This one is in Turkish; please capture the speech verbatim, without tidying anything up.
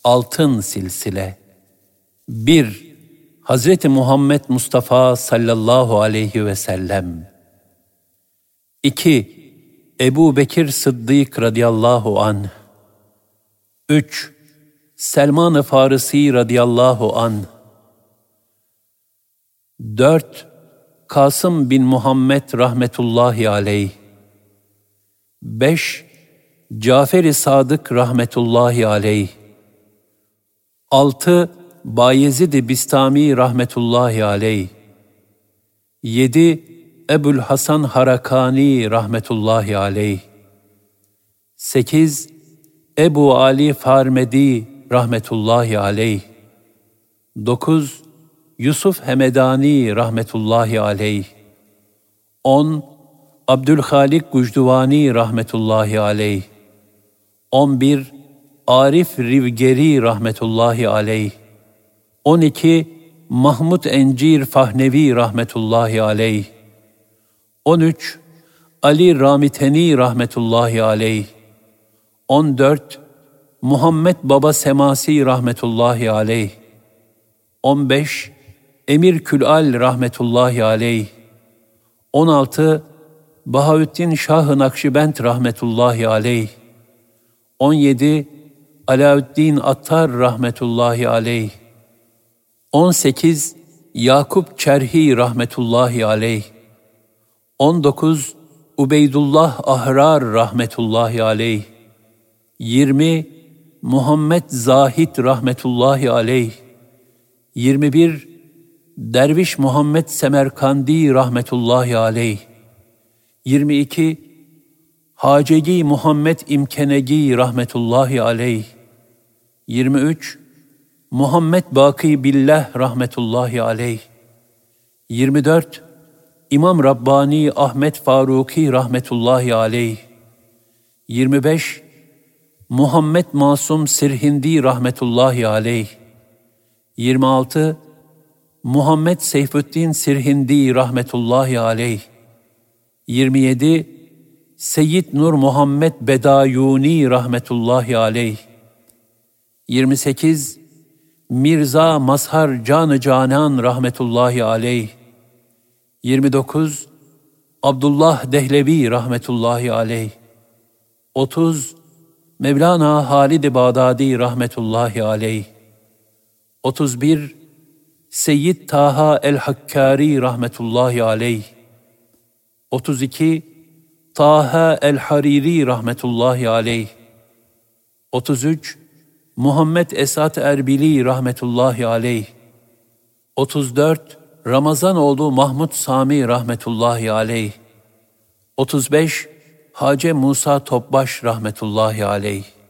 Altın silsile. bir. Hazreti Muhammed Mustafa sallallahu aleyhi ve sellem. iki. Ebu Bekir Sıddık radıyallahu anh. üç. Selman-ı Farisi radıyallahu anh. dört. Kasım bin Muhammed rahmetullahi aleyh. beş. Cafer-i Sadık rahmetullahi aleyh. altı. Bayezid-i Bistami rahmetullahi aleyh. yedi. Ebul Hasan Harakani rahmetullahi aleyh. sekiz. Ebu Ali Farmedi rahmetullahi aleyh. dokuz. Yusuf Hemedani rahmetullahi aleyh. on. Abdülhalik Gucduvani rahmetullahi aleyh. on bir. Arif Rivgeri rahmetullahi aleyh. on iki. Mahmud Encir Fahnevi rahmetullahi aleyh. on üç. Ali Ramiteni rahmetullahi aleyh. on dört. Muhammed Baba Semasi rahmetullahi aleyh. on beş. Emir Külal rahmetullahi aleyh. on altı. Bahaüddin Şah-ı Nakşibend rahmetullahi aleyh. on yedi. Alaüddin Attar rahmetullahi aleyh. on sekiz. Yakup Çerhi rahmetullahi aleyh. on dokuz. Ubeydullah Ahrar rahmetullahi aleyh. yirmi. Muhammed Zahid rahmetullahi aleyh. yirmi bir. Derviş Muhammed Semerkandi rahmetullahi aleyh. yirmi iki. Hacegi Muhammed İmkenegi rahmetullahi aleyh. yirmi üç. Muhammed Baki Billah rahmetullahi aleyh. yirmi dört. İmam Rabbani Ahmet Faruki rahmetullahi aleyh. yirmi beş. Muhammed Masum Sirhindi rahmetullahi aleyh. yirmi altı. Muhammed Seyfüddin Sirhindi rahmetullahi aleyh. yirmi yedi. Seyyid Nur Muhammed Bedayuni rahmetullahi aleyh. yirmi sekiz. Mirza Mazhar Can-ı Canan rahmetullahi aleyh. yirmi dokuz. Abdullah Dehlevi rahmetullahi aleyh. otuz. Mevlana Halid-i Bağdadi rahmetullahi aleyh. otuz bir. Seyyid Taha el-Hakkari rahmetullahi aleyh. otuz iki. Taha el-Hariri rahmetullahi aleyh. otuz üç. Muhammed Esat Erbili rahmetullahi aleyh. otuz dört. Ramazanoğlu Mahmud Sami rahmetullahi aleyh. otuz beş. Hace Musa Topbaş rahmetullahi aleyh.